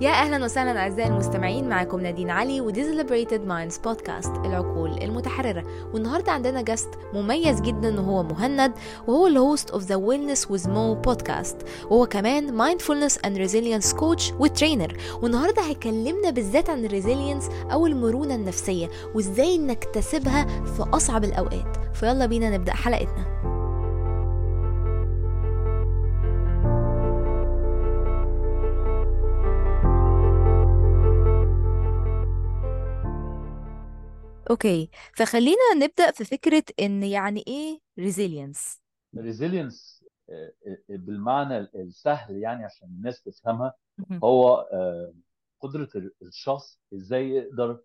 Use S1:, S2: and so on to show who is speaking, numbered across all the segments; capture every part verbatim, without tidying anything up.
S1: يا أهلا وسهلا أعزائي المستمعين، معكم نادين علي ودي Liberated Minds بودكاست العقول المتحررة. والنهاردة عندنا جاست مميز جدا وهو مهند، وهو الهوست of the Wellness with Mo podcast، وهو كمان Mindfulness and Resilience Coach وترينر. والنهاردة هيكلمنا بالذات عن الريزيلينس أو المرونة النفسية وإزاي نكتسبها في أصعب الأوقات. فيلا بينا نبدأ حلقتنا. اوكي، فخلينا نبدأ في فكرة ان يعني ايه resilience.
S2: الريزيلينس بالمعنى السهل يعني عشان الناس تفهمها،
S1: مهم.
S2: هو آه، قدرة الشخص ازاي يقدر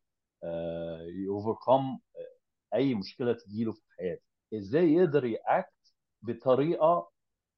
S2: يوفركم اي مشكلة تجيله في حياته، ازاي يقدر يأكت بطريقة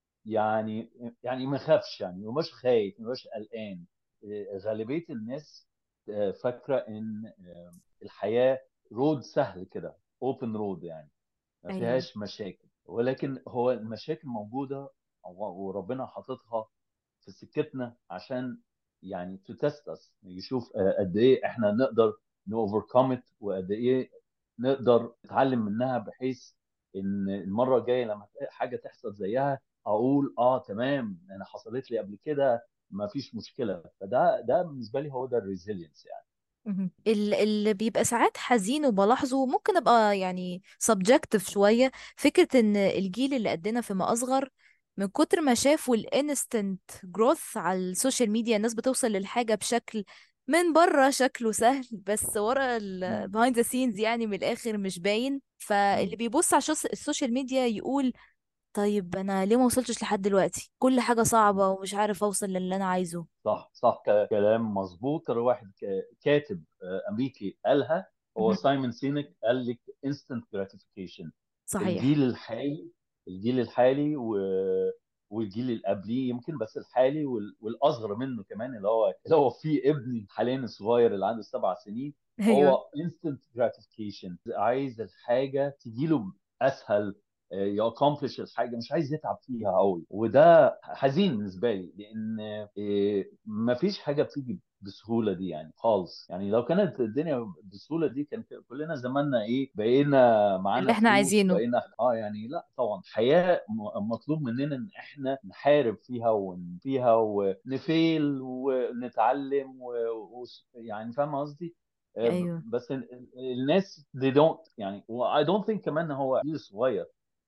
S2: يعني يعني ما يخافش، يعني ما يبقاش خايف، ما يبقاش قلقان. آه، غالبية الناس آه، فاكرة ان آه، الحياة رود سهل كده، اوبن رود، يعني ما
S1: ايوه.
S2: فيهاش مشاكل، ولكن هو المشاكل موجودة وربنا حاططها في سكتنا عشان يعني تتست اس، يشوف آه، قد ايه احنا نقدر نوفركم ات، وقد ايه نقدر نتعلم منها، بحيث ان المرة الجاية لما حاجة تحصل زيها اقول اه تمام، انا حصلت لي قبل كده، ما فيش مشكلة. فده ده بالنسبة لي هو ده الريزيلينس يعني.
S1: مهم. ال- اللي بيبقى ساعات حزين وبلاحظه ممكن ابقى يعني subjective شوية، فكرة ان الجيل اللي قدنا فيما اصغر من كتر ما شافوا الانستنت جروث على السوشيال ميديا، الناس بتوصل للحاجة بشكل من بره شكله سهل، بس ورا ال
S2: مم.
S1: behind the scenes يعني من الاخر مش باين. فاللي
S2: مم.
S1: بيبص على الشوس- السوشيال ميديا يقول طيب انا ليه ما وصلتش لحد دلوقتي، كل حاجة صعبة ومش عارف اوصل للي انا عايزه.
S2: صح صح، ك- كلام مظبوط. كان واحد ك- كاتب آه، امريكي قالها، هو
S1: مهم.
S2: سايمون سينك، قال لك instant gratification.
S1: صحيح.
S2: الجيل الحالي الجيل الحالي و... والجيل اللي قبليه يمكن، بس الحالي وال... والاصغر منه كمان، اللي هو اللي هو فيه ابني حاليا الصغير اللي عنده سبع سنين،
S1: ايوه.
S2: هو instant gratification، عايز الحاجه تجيله اسهل، يأكمبلش الحاجه، مش عايز يتعب فيها قوي. وده حزين بالنسبه لي، لان إيه، مفيش حاجه بتيجي بالسهوله دي يعني خالص. يعني لو كانت الدنيا بالسهوله دي كان كلنا زماننا ايه، بقينا
S1: اللي
S2: معانا
S1: احنا
S2: فلوس،
S1: عايزينه.
S2: بقينا اه يعني. لا طبعا، حياه م- مطلوب مننا ان احنا نحارب فيها ونفيها ونفيل ونتعلم و... و... يعني فاهم قصدي. آه،
S1: ايوه.
S2: بس ال- ال- الناس they don't يعني، و I don't think كمان ان هو جيل صغير.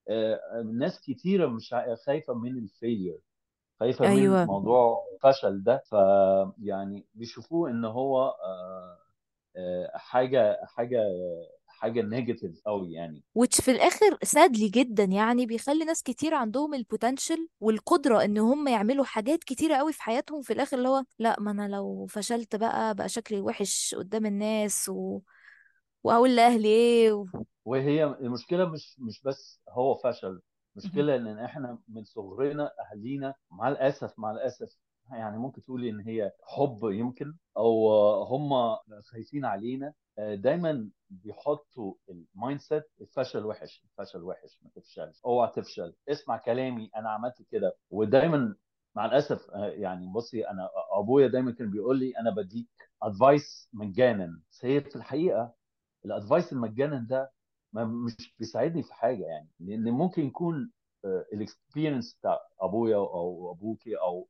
S2: آه، ناس كتيرة مش ع- خايفة من الفيلير، خايفة من
S1: ايوه.
S2: موضوع الفشل ده. فيعني بيشوفوه ان هو آه، آه، حاجة حاجة حاجة نيجاتيف قوي يعني.
S1: which في الاخر سادلي جدا يعني بيخلي ناس كتير عندهم البوتنشال والقدرة ان هم يعملوا حاجات كتيرة قوي في حياتهم، في الاخر اللي هو لا، ما انا لو فشلت بقى بقى شكلي وحش قدام الناس و... وهقول لاهلي ايه و...
S2: وهي المشكلة مش مش بس هو فشل،
S1: مهم.
S2: مشكلة ان احنا من صغرنا اهالينا مع الاسف مع الاسف يعني ممكن تقولي ان هي حب يمكن، او هم خايفين علينا، دايما بيحطوا المايند سيت الفشل وحش، الفشل وحش، ما تفشلش، اوعى تفشل، اسمع كلامي، انا عملت كده. ودايما مع الاسف يعني بصي، انا ابويا دايما كان بيقول لي انا بديك ادفايس مجانا، بس هي في الحقيقة الادفايس المجانا ده ما مش بيساعدني في حاجه، يعني لان ممكن يكون الاكسبيرينس بتاع ابويا او ابوكي او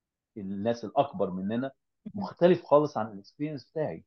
S2: الناس الاكبر مننا
S1: مهم.
S2: مختلف خالص عن الاكسبيرينس بتاعي.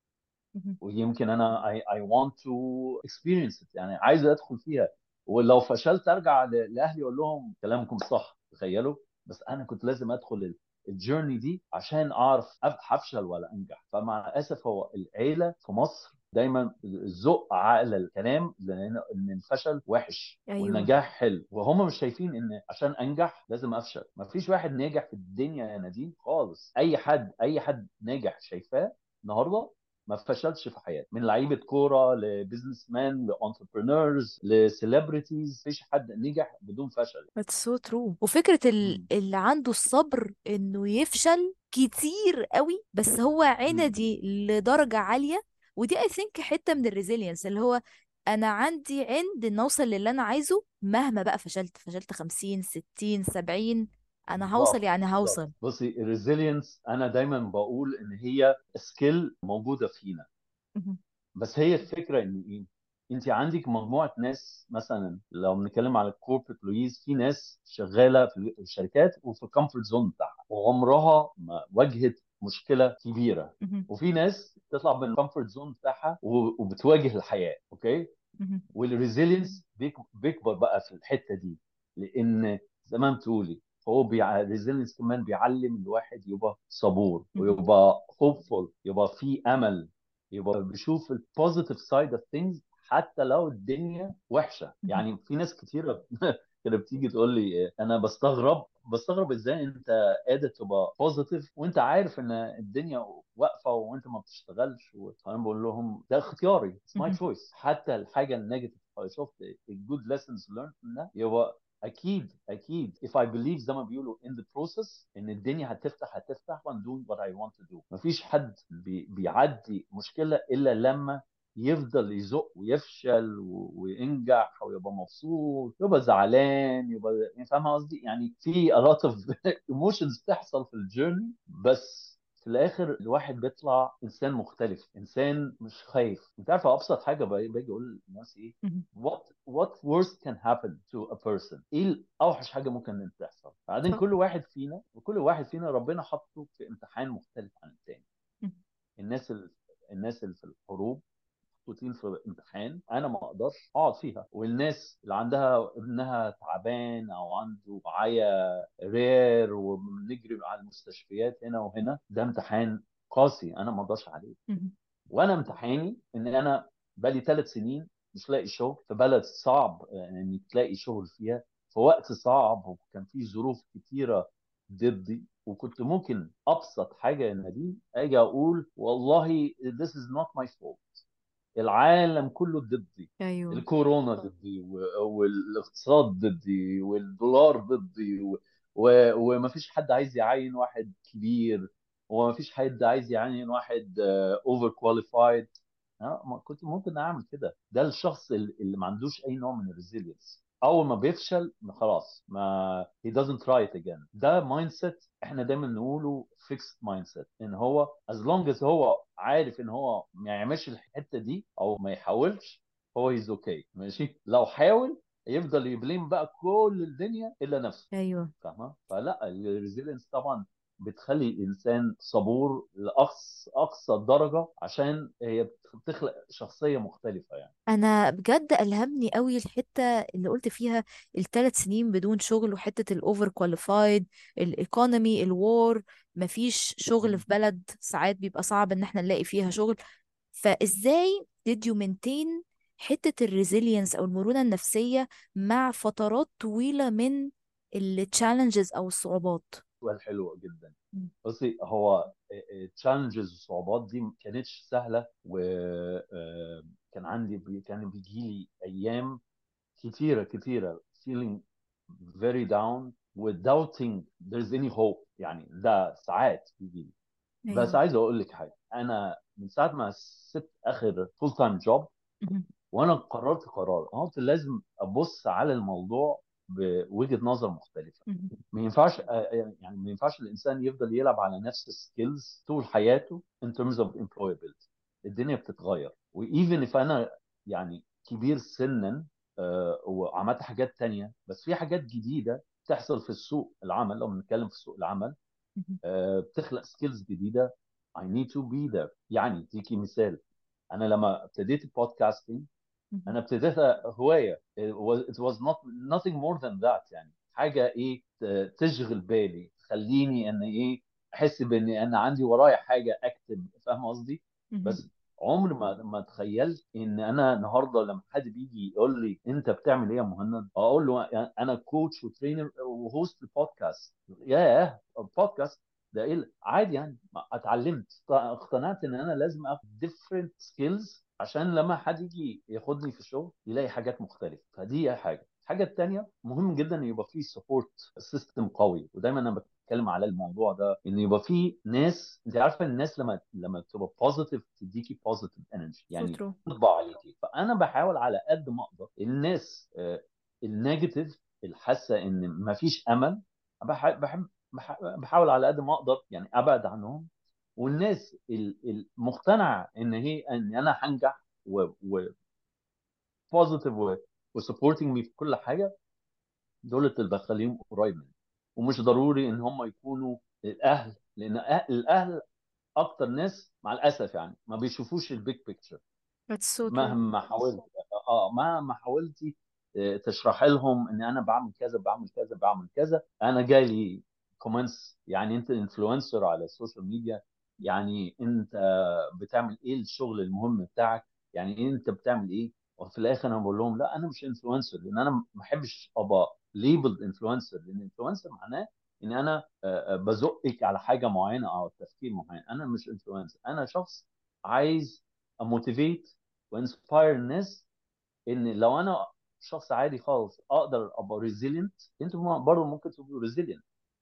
S1: مهم.
S2: ويمكن انا I, I want to experience it، يعني عايز ادخل فيها. ولو فشلت ارجع ل- لاهلي اقول لهم كلامكم صح، تخيلوا. بس انا كنت لازم ادخل الجيرني دي عشان اعرف أف- هفشل ولا انجح. فمع الاسف هو العيله في مصر دايما الذوق على الكلام، لان إن الفشل وحش
S1: ايوه.
S2: والنجاح حلو، وهم مش شايفين ان عشان انجح لازم افشل. ما فيش واحد ناجح في الدنيا يا نادين خالص. اي حد اي حد ناجح شايفاه النهارده ما فشلش في حياته، من لعيبه كوره لبزنس مان لانتربرينورز لسيلبرتيز، مفيش حد نجح بدون فشل.
S1: That's so true. وفكرة ال-
S2: مم.
S1: اللي عنده الصبر انه يفشل كتير قوي بس هو
S2: مم.
S1: عندي لدرجة عالية، ودي I think حتة من الريزيلينس اللي هو انا عندي عند ان اوصل للي انا عايزه مهما بقى فشلت فشلت خمسين ستين سبعين، انا هوصل
S2: بالظبط
S1: يعني
S2: بالظبط.
S1: هوصل.
S2: بصي الريزيلينس انا دايما بقول ان هي سكيل موجوده فينا،
S1: مهم.
S2: بس هي الفكره ان ايه، انت عندك مجموعه ناس، مثلا لو بنتكلم على الكوربريت لويز، في ناس شغاله في الشركات وفي الكومفورت زون بتاعها وعمرها ما واجهت مشكله كبيره،
S1: مهم.
S2: وفي ناس تطلع من الكومفورت زون بتاعها و- وبتواجه الحياه. اوكي.
S1: مهم.
S2: والريزيلينس بيكبر بقى في الحته دي، لان زي ما بتقولي هو بيع... الريزيلينس كمان بيعلم الواحد يبقى صبور
S1: مهم.
S2: ويبقى hopeful، يبقى في امل، يبقى بيشوف البوزيتيف سايد اوف ثينجز حتى لو الدنيا وحشه.
S1: مهم.
S2: يعني في ناس كتيره كده بتيجي تقول لي انا بستغرب بستغرب ازاي انت قادر تبقى بوزيتيف وانت عارف ان الدنيا واقفه وانت ما بتشتغلش. وانا بقول لهم ده اختياري، اتس ماي
S1: مهم.
S2: تشويس. حتى الحاجه النيجاتيف لو شفت الجود lessons learned منها، يبقى اكيد اكيد if I believe زي ما بيقولوا in the process ان الدنيا هتفتح هتفتح and doing what I want to do. مفيش حد بي بيعدي مشكله الا لما يفضل يزق ويفشل و- وينجح ويبقى مبسوط، يبقى زعلان، يبقى يعني فاهم قصدي. يعني في a lot of emotions بتحصل في الجيرني، بس في الاخر الواحد بيطلع انسان مختلف، انسان مش خايف. انت عارف ابسط حاجه باجي باجي اقول للناس ايه؟
S1: مهم.
S2: what what worst can happen to a person؟ ايه اوحش حاجه ممكن ان تحصل؟ بعدين
S1: صح.
S2: كل واحد فينا وكل واحد فينا ربنا حطه في امتحان مختلف عن التاني.
S1: مهم.
S2: الناس ال... الناس اللي في الحروب محطوطين في امتحان انا ما اقدرش اقعد فيها، والناس اللي عندها ابنها تعبان او عنده معايا رير وبنجري على المستشفيات هنا وهنا، ده امتحان قاسي انا ما اقدرش عليه.
S1: مهم.
S2: وانا امتحاني ان انا بقالي ثلاث سنين مش لاقي شغل في بلد صعب يعني انك تلاقي شغل فيها في وقت صعب، وكان في ظروف كتيره ضدي، وكنت ممكن ابسط حاجه يا نادين اجي اقول والله this is not my fault، العالم كله ضدي،
S1: ايوه.
S2: الكورونا ضدي و- والاقتصاد ضدي والدولار ضدي و... و... ومفيش حد عايز يعين واحد كبير، ومفيش حد عايز يعين واحد اوفر كواليفايد. كنت ممكن اعمل كده. ده الشخص اللي اللي ما عندوش اي نوع من الريزيلينس، اول ما بيفشل خلاص ما he doesn't try it again. ده مايند سيت احنا دايما نقوله fixed مايند سيت، ان هو as long as هو عارف ان هو ما يعملش الحته دي او ما يحاولش، هو is okay ماشي. لو حاول يفضل يبليم بقى كل الدنيا الا نفسه.
S1: ايوه.
S2: فاهمه؟ فلا الريزيلينس طبعا بتخلي الانسان صبور لاقصى اقصى درجه، عشان هي بتخلق شخصيه مختلفه يعني.
S1: انا بجد الهمني قوي الحته اللي قلت فيها الثلاث سنين بدون شغل، وحته الاوفر كواليفايد، الايكونومي، الوار، مفيش شغل في بلد ساعات بيبقى صعب ان احنا نلاقي فيها شغل. فازاي did you maintain حته الريزيلينس او المرونه النفسيه مع فترات طويله من التشالنجز او الصعوبات؟
S2: سؤال حلو جدا.
S1: مم.
S2: بصي هو التشالنجز والصعوبات دي ما كانتش سهله، وكان عندي بي- كان بيجي لي ايام كتيره كتيره feeling very down و doubting there's any hope. يعني ده ساعات بيجي لي. بس
S1: ايوه.
S2: عايز اقول لك حاجه، انا من ساعه ما سبت اخر فول تايم جوب
S1: مهم.
S2: وانا قررت قرار انا قلت لازم ابص على الموضوع بوجهه نظر مختلفه.
S1: مهم.
S2: ما ينفعش يعني ما ينفعش الانسان يفضل يلعب على نفس السكيلز طول حياته in terms of employability. الدنيا بتتغير، وايفن if انا يعني كبير سنا آه، وعملت حاجات تانية، بس في حاجات جديدة بتحصل في السوق العمل. لو بنتكلم في سوق العمل
S1: مهم.
S2: آه، بتخلق سكيلز جديدة. I need to be there. يعني اديكي مثال، انا لما ابتديت البودكاستنج
S1: مهم.
S2: انا ابتديتها هوايه. it was, it was not nothing more than that. يعني حاجه ايه ت- تشغل بالي، تخليني ان ايه احس بان انا عندي ورايا حاجه اكتب. فاهم قصدي؟
S1: مهم.
S2: بس عمر ما ما تخيلت ان انا النهارده لما حد بيجي يقول لي انت بتعمل ايه يا مهند، اقول له انا كوتش وترينر وهوست البودكاست. ياه البودكاست ده ايه عادي يعني. اتعلمت اقتنعت ان انا لازم اخد different skills عشان لما حد يجي ياخدني في الشغل يلاقي حاجات مختلفه. فدي حاجه. الحاجه الثانيه مهم جدا ان يبقى في سبورت سيستم قوي، ودايما انا بتكلم على الموضوع ده، ان يبقى في ناس. انت عارفه الناس لما لما تبقى بوزيتيف تديكي بوزيتيف انرجي
S1: so
S2: يعني
S1: true.
S2: تطبع عليكي. فانا بحاول على قد ما اقدر الناس آه، النيجاتيف اللي حاسه ان ما فيش امل بحب بحب بح- بحاول على قد ما اقدر يعني ابعد عنهم. والناس المقتنعه ان هي ان انا هنجح وبوزيتيف وسبورتنج مي في كل حاجه، دول اللي بخليهم قريب مني. ومش ضروري ان هم يكونوا الاهل، لان أه- الاهل اكتر ناس مع الاسف يعني ما بيشوفوش البيج بيكتشر.
S1: That's so true.
S2: مهما حاولت، اه مهما حاولتي آه، تشرح لهم ان انا بعمل كذا بعمل كذا بعمل كذا. انا جالي كومنتس يعني انت انفلونسر على السوشيال ميديا، يعني انت بتعمل ايه الشغل المهم بتاعك، يعني إيه انت بتعمل ايه. وفي الاخر انا بقول لهم لا انا مش انفلونسر، لان انا ما بحبش ابقى ليبل انفلونسر، لان انفلونسر معناه ان انا آه، آه، بزقك على حاجه معينه او تفكير معين. انا مش انفلونسر، انا شخص عايز اموتيفيت وانسباير الناس. ان لو انا شخص عادي خالص اقدر ابقى ريزيلينت، انتوا برضه ممكن تبقوا ريزيلينت.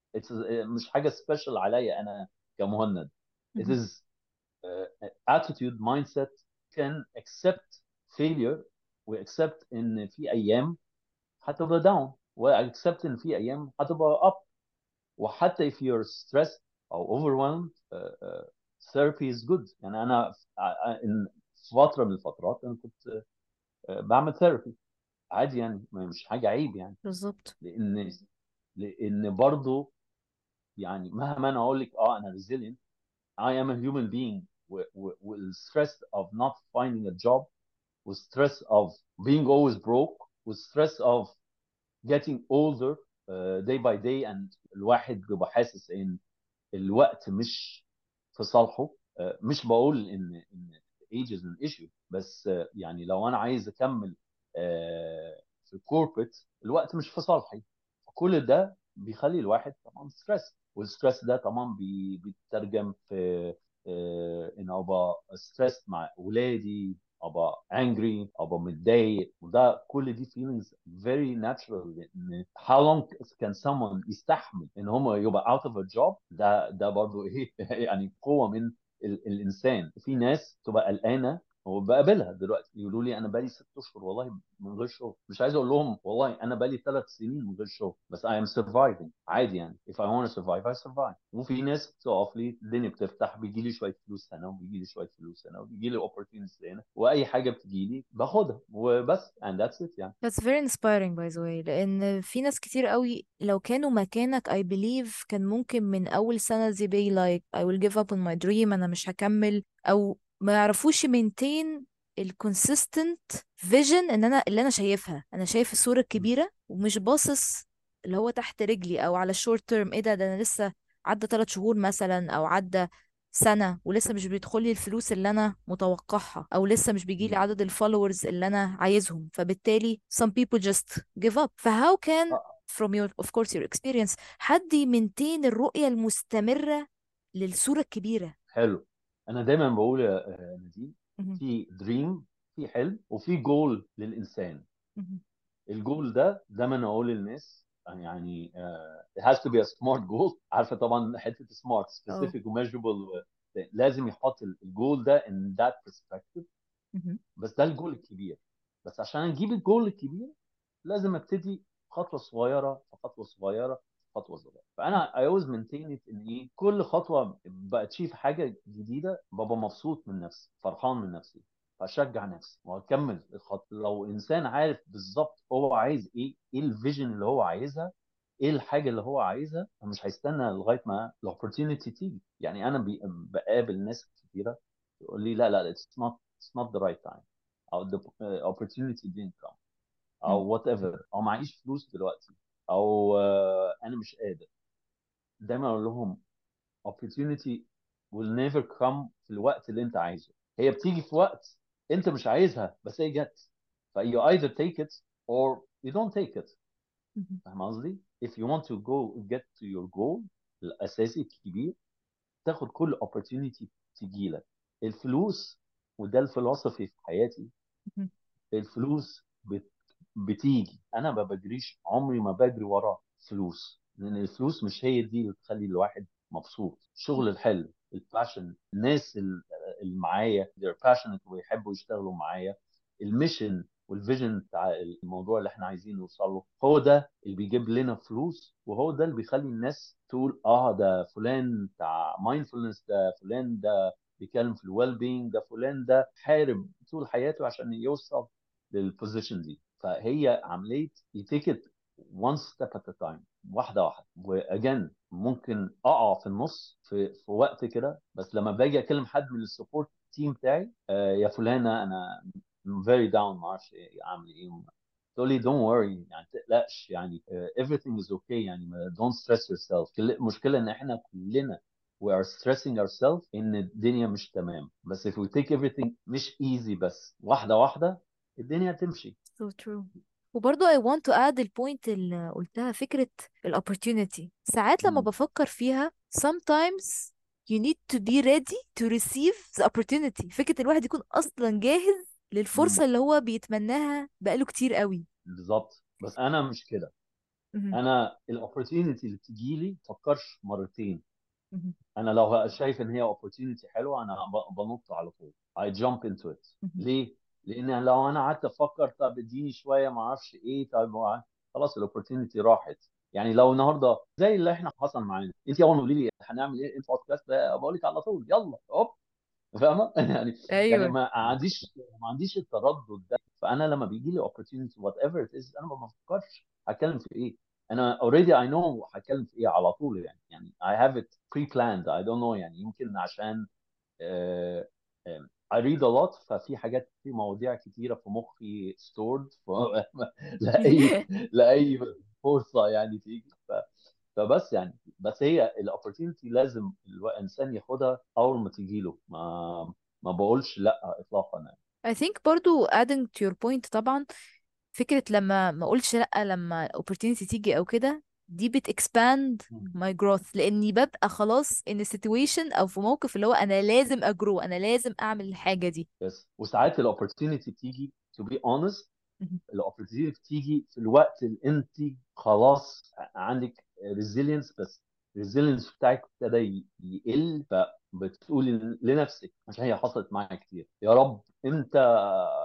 S2: مش حاجه سبيشال عليا انا كمهند. it
S1: مهم.
S2: is uh, attitude mindset can accept failure و accept ان في ايام هتبقى down و accept ان في ايام هتبقى up. وحتى if you're stressed او overwhelmed uh, uh, therapy is good. يعني انا في في فتره من الفترات انا كنت uh, بعمل ثيرابي عادي يعني، ما- مش حاجه عيب يعني.
S1: بالظبط.
S2: لان لان برضه يعني مهما انا اقول لك اه انا resilient I am a human being والstress of not finding a job والstress of being always broke والstress of getting older uh, day by day and الواحد بيبقى حاسس ان الوقت مش في صالحه. آه، مش بقول ان ان age is an issue، بس آه، يعني لو انا عايز اكمل آه، في الكوربريت الوقت مش في صالحي. كل ده بيخلي الواحد طبعا ستريس، والستريس ده طبعا بي- بيترجم في آه، ان ابقى ستريس مع اولادي، ابقى angry، ابقى متضايق. وده كل دي feelings very natural. لان how long can someone يستحمل ان هم يبقى out of a job؟ ده ده برضو ايه يعني قوة من ال الانسان. في ناس تبقى قلقانة وبقابلها دلوقتي يقولوا لي انا بقالي ست اشهر والله من غير شغل. مش عايز اقول لهم والله انا بقالي ثلاث سنين من غير شغل، بس I am surviving عادي يعني. if I want to survive I survive. وفي ناس بتقف لي الدنيا بتفتح، بيجي لي شويه فلوس هنا وبيجي لي شويه فلوس هنا وبيجي لي opportunities هنا، واي حاجه بتجي لي باخدها وبس and that's it يعني.
S1: That's very inspiring by the way، لأن في ناس كتير قوي لو كانوا مكانك I believe كان ممكن من أول سنة they be like I will give up on my dream، أنا مش هكمل، أو ما يعرفوش maintain ال consistent vision. إن أنا اللي أنا شايفها، أنا شايف الصورة الكبيرة ومش باصص اللي هو تحت رجلي أو على الشورت تيرم. إيه ده ده أنا لسه عدى ثلاث شهور مثلا أو عدى سنة ولسه مش بيدخلي الفلوس اللي أنا متوقعها، أو لسه مش بيجيلي عدد الفولورز اللي أنا عايزهم، فبالتالي some people just give up. ف how can
S2: آه،
S1: from your of course your experience حد يمنتين الرؤية المستمرة للصورة الكبيرة؟
S2: حلو. انا دايما بقول يا آه، نادين،
S1: مهم.
S2: في دريم، في حلم، وفي جول للانسان.
S1: مهم.
S2: الجول ده دايما اقول للناس يعني uh, it has to be a smart goal. عارفه طبعا حته smart
S1: اه.
S2: specific وmeasurable. لازم يحط الجول ده in that perspective.
S1: مهم.
S2: بس ده الجول الكبير. بس عشان نجيب الجول الكبير لازم ابتدي خطوه صغيره في خطوه صغيره في خطوه صغيره. فانا I always maintain it ان ايه كل خطوه باتشيف حاجه جديده ببقى مبسوط من نفسي، فرحان من نفسي، فاشجع نفسي واكمل الخطوه. لو انسان عارف بالظبط هو عايز ايه، ايه الفيجن اللي هو عايزها، ايه الحاجه اللي هو عايزها، مش هيستنى لغايه ما الاوبورتيونيتي تيجي. يعني انا بي- بقابل ناس كتيره يقول لي لا لا it's not it's not the right time، او the uh, opportunity didn't come، او
S1: مم.
S2: وات ايفر، او معيش فلوس دلوقتي، او آه، انا مش قادر. دايما اقول لهم opportunity will never come في الوقت اللي انت عايزه. هي بتيجي في وقت انت مش عايزها بس هي جت. ف you either take it or you don't take it.
S1: مهم.
S2: فاهم قصدي؟ if you want to go get to your goal الاساسي الكبير، تاخد كل opportunity تجي لك. الفلوس، وده الفلسفي في حياتي،
S1: مهم.
S2: الفلوس بت... بتيجي. انا ما بجريش، عمري ما بجري ورا فلوس، لان الفلوس مش هي دي اللي تخلي الواحد مبسوط. شغل الحلم، الباشن، الناس ال- اللي معايا they're passionate ويحبوا يشتغلوا معايا، الميشن والفيجن بتاع الموضوع اللي احنا عايزين نوصل له، هو ده اللي بيجيب لنا فلوس، وهو ده اللي بيخلي الناس تقول اه ده فلان بتاع مايندفولنس، ده فلان ده بيتكلم في الويل بينج، ده فلان ده حارب طول حياته عشان يوصل للبوزيشن دي. فهي عمليه يتيكت one step at a time، واحده واحده. واجان ممكن اقع في النص في في وقت كده، بس لما باجي اكلم حد من السبورت تيم بتاعي، آه يا فلانه انا very down، ما اعرفش إيه- اعمل ايه، تقول لي don't worry يعني ما تقلقش يعني uh, everything is okay يعني ما- don't stress yourself. كل- المشكله ان احنا كلنا we are stressing ourselves ان الدنيا مش تمام، بس if we take everything مش easy، بس واحده واحده الدنيا تمشي.
S1: so true. وبرضو I want to add البوينت اللي قلتها، فكرة ال opportunity. ساعات لما
S2: مم.
S1: بفكر فيها sometimes you need to be ready to receive the opportunity. فكرة الواحد يكون أصلا جاهز
S2: مم.
S1: للفرصة اللي هو بيتمناها بقاله كتير قوي.
S2: بالظبط، بس انا مش كده.
S1: مهم.
S2: انا الاوبورتيونيتي اللي بتجي لي فكرش مرتين.
S1: مهم.
S2: انا لو شايف ان هي opportunity حلوه انا ب- بنط على طول. I jump into it.
S1: مهم.
S2: ليه؟ لان لو انا قعدت افكر طب اديني شويه ما اعرفش ايه، طب هو- خلاص الاوبورتونيتي راحت. يعني لو النهارده زي اللي احنا حصل معانا، انت اول ما قولي لي هنعمل ايه البودكاست ده بقول لك على طول يلا هوب، فاهمه؟ يعني يعني
S1: ايوه.
S2: ما عنديش ما عنديش التردد ده. فانا لما بيجي لي opportunity whatever it is انا ما بفكرش هتكلم في ايه. انا already I know هتكلم في ايه على طول. يعني يعني I have it pre-planned. I don't know يعني يمكن عشان آه، آه، I read a lot، ففي حاجات في مواضيع كتيرة في مخي stored ف... لأي لأي فرصة يعني تيجي ف... فبس يعني بس هي الاوبورتيونيتي لازم الانسان ياخدها اول ما تيجي له. ما ما بقولش لا اطلاقا يعني.
S1: I think برضو adding to your point طبعا، فكرة لما ما اقولش لأ لما opportunity تيجي او كده، دي بت expand
S2: مم.
S1: my growth، لاني ببقى خلاص in a situation او في موقف اللي هو انا لازم اجرو، انا لازم اعمل الحاجة دي.
S2: بس وساعات الاوبورتيونيتي بتيجي to be honest،
S1: مهم.
S2: الاوبورتيونيتي بتيجي في الوقت اللي انت خلاص عندك ريزيلينس، بس الريزيلينس بتاعك ابتدى ي- يقل، فبتقولي لنفسك عشان هي حصلت معايا كتير يا رب امتى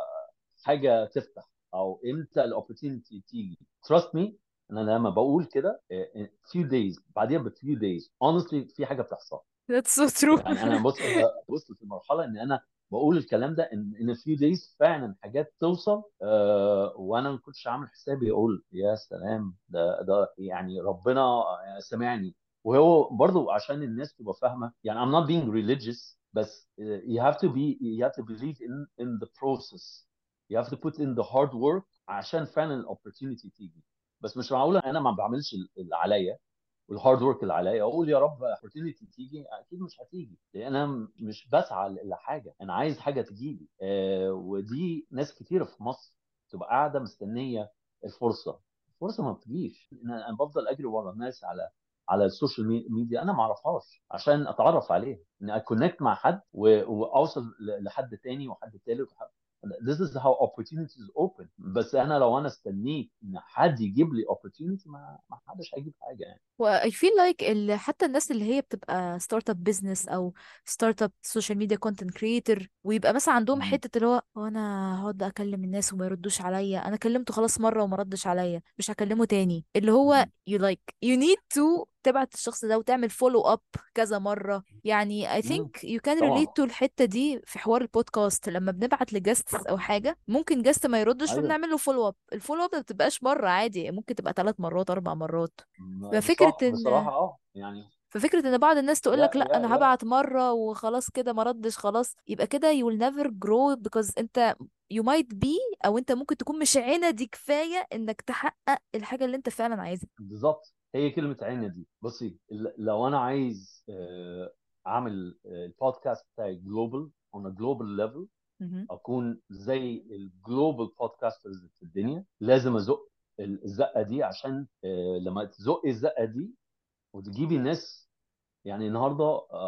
S2: حاجه تفتح او امتى الاوبورتيونيتي تيجي. trust me ان انا لما بقول كده آه، few days بعديها ب few days honestly في حاجه بتحصل.
S1: That's so true.
S2: يعني انا بص وصلت لمرحله ان انا بقول الكلام ده ان ان في دايز فعلا حاجات توصل أه وانا ما كنتش عامل حسابي اقول يا سلام ده ده يعني ربنا سمعني. وهو برضو عشان الناس تبقى فاهمه يعني I'm not being religious، بس uh, you have to be you have to believe in in the process. You have to put in the hard work عشان فعلا الاوبورتيونيتي تيجي. بس مش معقوله انا ما بعملش اللي عليا والهارد ورك اللي عليا اقول يا رب opportunity تيجي. اكيد مش هتيجي لان انا م- مش بسعى لحاجه، انا عايز حاجه تجي لي. آه ودي ناس كتيره في مصر تبقى قاعده مستنيه الفرصه. الفرصه ما بتجيش. انا أنا بفضل اجري ورا الناس على على السوشيال مي- ميديا انا ما اعرفهاش عشان اتعرف عليه، ان اكونكت مع حد و- واوصل ل- لحد تاني وحد تالت وحد. This is how opportunities open. بس انا لو انا استنيت ان حد يجيب لي opportunity ما ما حدش هيجيب حاجه يعني.
S1: و I feel like ال... حتى الناس اللي هي بتبقى ستارت اب بزنس او ستارت اب سوشيال ميديا كونتنت كريتور، ويبقى مثلا عندهم
S2: مم.
S1: حته اللي هو هو انا هقعد اكلم الناس وما يردوش عليا، انا كلمته خلاص مره وما ردش عليا مش هكلمه تاني، اللي هو
S2: مم.
S1: you like you need to تبعت الشخص ده وتعمل فولو اب كذا مره. يعني I
S2: مم.
S1: think you can relate
S2: طبعا.
S1: to الحته دي في حوار البودكاست. لما بنبعت لجاست او حاجه ممكن جاست ما يردش
S2: ايوه.
S1: فبنعمل له فولو اب، الفولو اب ما بتبقاش مره عادي، ممكن تبقى ثلاث مرات اربع مرات.
S2: م-
S1: ففكرة
S2: صح
S1: ان
S2: بصراحه اه يعني.
S1: ففكرة ان بعض الناس تقولك
S2: يا
S1: لا
S2: يا
S1: انا
S2: يا
S1: هبعت مرة وخلاص كده ما ردش خلاص، يبقى كده you will never grow because انت you might be او انت ممكن تكون مش عندي كفاية انك تحقق الحاجة اللي انت فعلا عايزها.
S2: بالظبط هي كلمه عين دي. بصي ال- لو انا عايز آه، اعمل آه، البودكاست بتاعي جلوبال on a global level،
S1: مهم.
S2: اكون زي الجلوبال بودكاسترز في الدنيا، لازم ازق الزقه دي عشان آه، لما تزقي الزقه دي وتجيبي الناس. يعني النهارده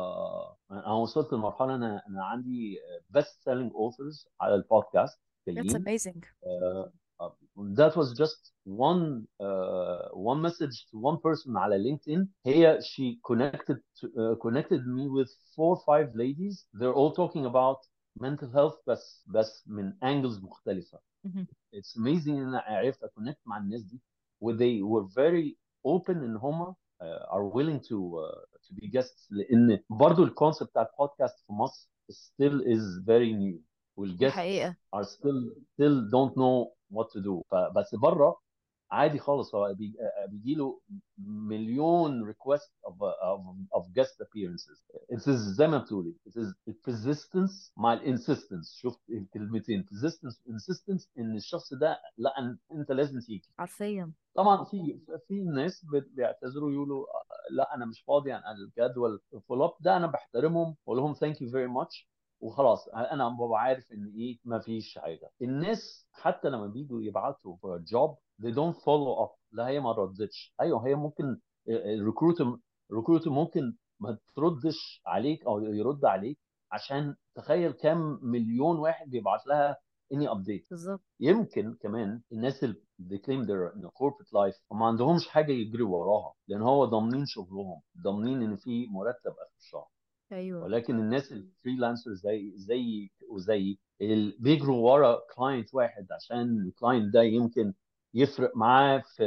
S2: آه انا وصلت لمرحله انا انا عندي بيست سيلينج اوثرز على البودكاست
S1: That's
S2: جايين.
S1: amazing.
S2: uh, uh, that was just one uh, one message to one person على LinkedIn. هي she connected to, uh, connected me with four five ladies. They're all talking about mental health بس بس من angles مختلفة.
S1: مهم.
S2: it's amazing ان انا عرفت اكونكت مع الناس دي و they were very open ان هم uh, are willing to uh, to be guests لان برضو الكونسيبت بتاع البودكاست في مصر still is very new
S1: دي
S2: والجيست
S1: حقيقة.
S2: are still still don't know what to do فبس بره عادي خالص هو بي- بيجي له مليون request of, of, of guest appearances. It is زي ما بتقولي it is persistence مع الانسيستنس. شفت الكلمتين persistence insistence ان الشخص ده لا أن- انت لازم تيجي.
S1: حرفيا.
S2: طبعا في في ناس بت- بيعتذروا يقولوا لا انا مش فاضي عن الجدول الفول اب ده. انا بحترمهم واقول لهم ثانك يو فيري ماتش وخلاص. انا ببقى عارف ان ايه ما فيش حاجه. الناس حتى لما بيجوا يبعتوا for a job they don't follow up. لا هي ما ردتش. ايوه هي ممكن الريكروتر الريكروتر ممكن ما تردش عليك او يرد عليك عشان تخيل كام مليون واحد بيبعت لها اني ابديت.
S1: بالظبط.
S2: يمكن كمان الناس اللي they claim their you know, corporate life وما عندهمش حاجه يجروا وراها لان هو ضامنين شغلهم ضامنين ان في مرتب اخر الشهر.
S1: ايوه
S2: ولكن الناس الفريلانسر زي زي وزي اللي بيجروا ورا كلاينت واحد عشان الكلاينت ده يمكن يفرق معاه في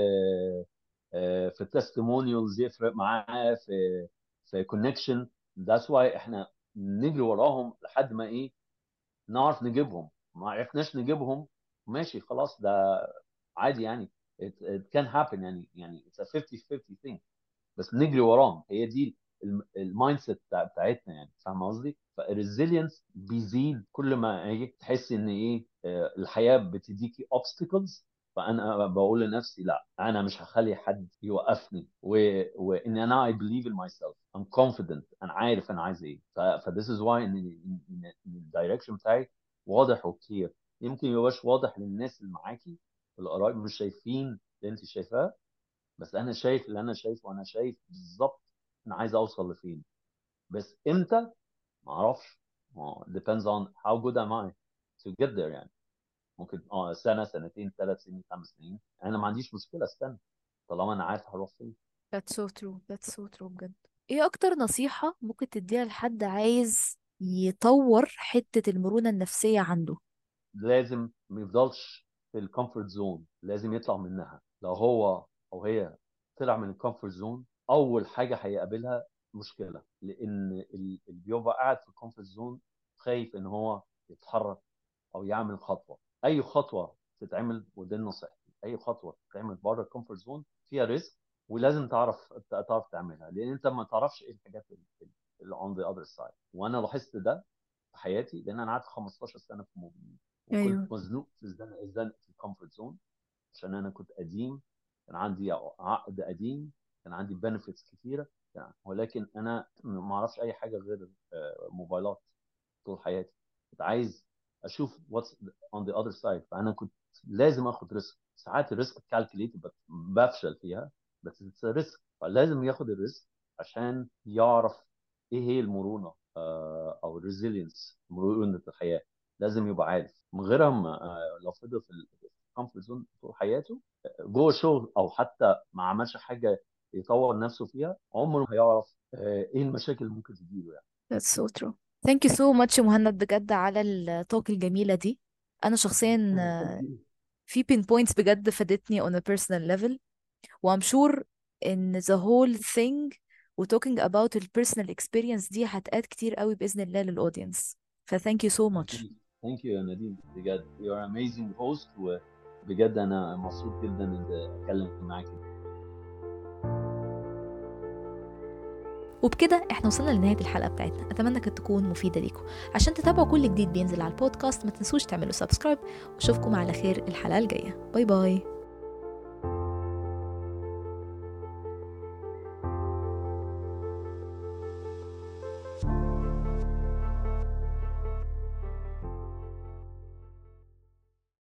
S2: آه، في التستيمونيالز يفرق معاه في في كونكشن. ذاتس واي احنا نجري وراهم لحد ما ايه نعرف نجيبهم. ما عرفناش نجيبهم ماشي خلاص ده عادي يعني it, it can happen يعني يعني it's a fifty fifty thing بس نجري وراهم. هي دي المايند سيت بتاعتنا يعني فاهم قصدي. فالريزيلينس بيزيد كل ما هي تحس ان ايه آه، الحياه بتديكي obstacles. فانا بقول لنفسي لا انا مش هخلي حد يوقفني و... وان انا I believe in myself I'm confident انا عارف انا عايز ايه. ف... ف this is why ان ان الدايركشن بتاعي واضح وكتير. يمكن يبقاش واضح للناس اللي معاكي القرايب مش شايفين اللي انت شايفاه بس انا شايف اللي انا شايفه وانا شايف بالظبط انا عايز اوصل لفين. بس امتى ما اعرفش. ما depends on how good am I to get there يعني. ممكن اه سنه سنتين ثلاث سنين خمس سنين انا ما عنديش مشكله استنى طالما انا عارف هروح فين.
S1: that's so true that's so true بجد. ايه اكتر نصيحة ممكن تديها لحد عايز يطور حتة المرونة النفسية عنده؟
S2: لازم ما يفضلش في الكومفورت زون لازم يطلع منها. لو هو او هي طلع من الكومفورت زون اول حاجه هيقابلها مشكله لان ال- اللي بيبقى قاعد في الكومفورت زون خايف ان هو يتحرك او يعمل خطوه. اي خطوه تتعمل ودي نصيحتي اي خطوه تتعمل بره الكومفورت زون فيها ريسك ولازم تعرف تعرف تعملها لان انت ما تعرفش ايه الحاجات اللي on the other side. وانا لاحظت ده في حياتي لان انا قعدت خمستاشر سنه في موبينيل وكنت
S1: ايوه
S2: مزنوق في الزنقه الزنقه في الكومفورت زون عشان انا كنت قديم كان عندي عقد قديم كان عندي بنفيتس كتيره يعني. ولكن انا ما اعرفش اي حاجه غير آه، موبايلات طول حياتي. كنت عايز اشوف واتس اون ذا اذر سايد فانا كنت لازم اخد ريسك. ساعات الريسك كالكوليتد بفشل فيها بس اتس ريسك فلازم ياخد الريسك عشان يعرف ايه هي المرونه آه، او الريزيلينس مرونه الحياه. لازم يبقى عارف من غيرها ما- آه، لو فضل في الكومفورت زون طول حياته آه، جوه الشغل او حتى ما عملش حاجه يطور نفسه فيها عمره ما هيعرف آه، ايه المشاكل اللي ممكن تجيله يعني.
S1: that's so true. thank you so much مهند بجد على التوك الجميلة دي. انا شخصيا آه، في بين بوينتس بجد فادتني on a personal level و I'm sure ان the whole thing و talking about ال personal experience دي هتقاد كتير قوي بإذن الله للأودينس. ف thank you so much.
S2: اكيد ثانك يو يا نادين بجد you are amazing host وبجد انا مبسوط جدا ان اتكلم معاك.
S1: وبكده احنا وصلنا لنهاية الحلقة بتاعتنا. اتمنى كانت تكون مفيدة ليكم. عشان تتابعوا كل جديد بينزل على البودكاست ما تنسوش تعملوا سبسكرايب واشوفكم على خير الحلقة الجاية. باي باي.